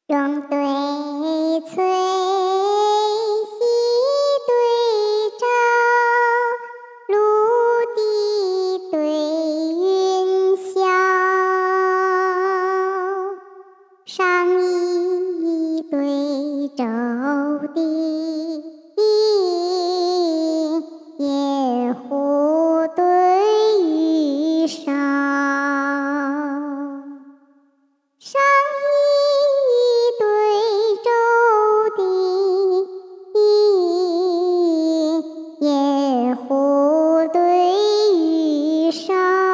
荣对翠，熹对朝，陆地对云霄。上夷对周地，野狐对羽韶。上夷对周地，野狐对羽韶。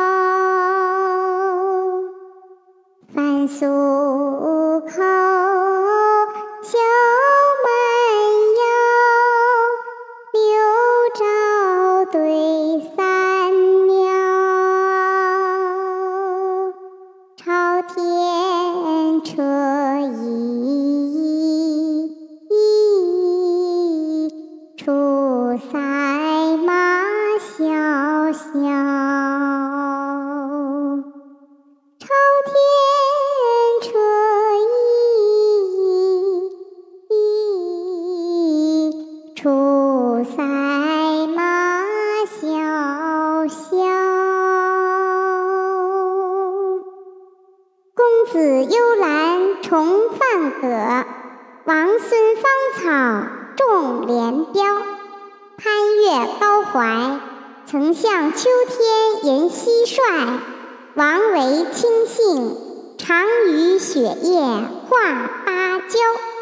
凡俗口，小蛮腰，六朝对三鸟。朝天车翼，出塞马萧萧。朝天车翼，出塞马萧萧。公子幽兰重放葛，王孙芳草重连标。攀越高怀，曾向秋天言蟋蟀。王维清幸，常与雪夜话芭蕉。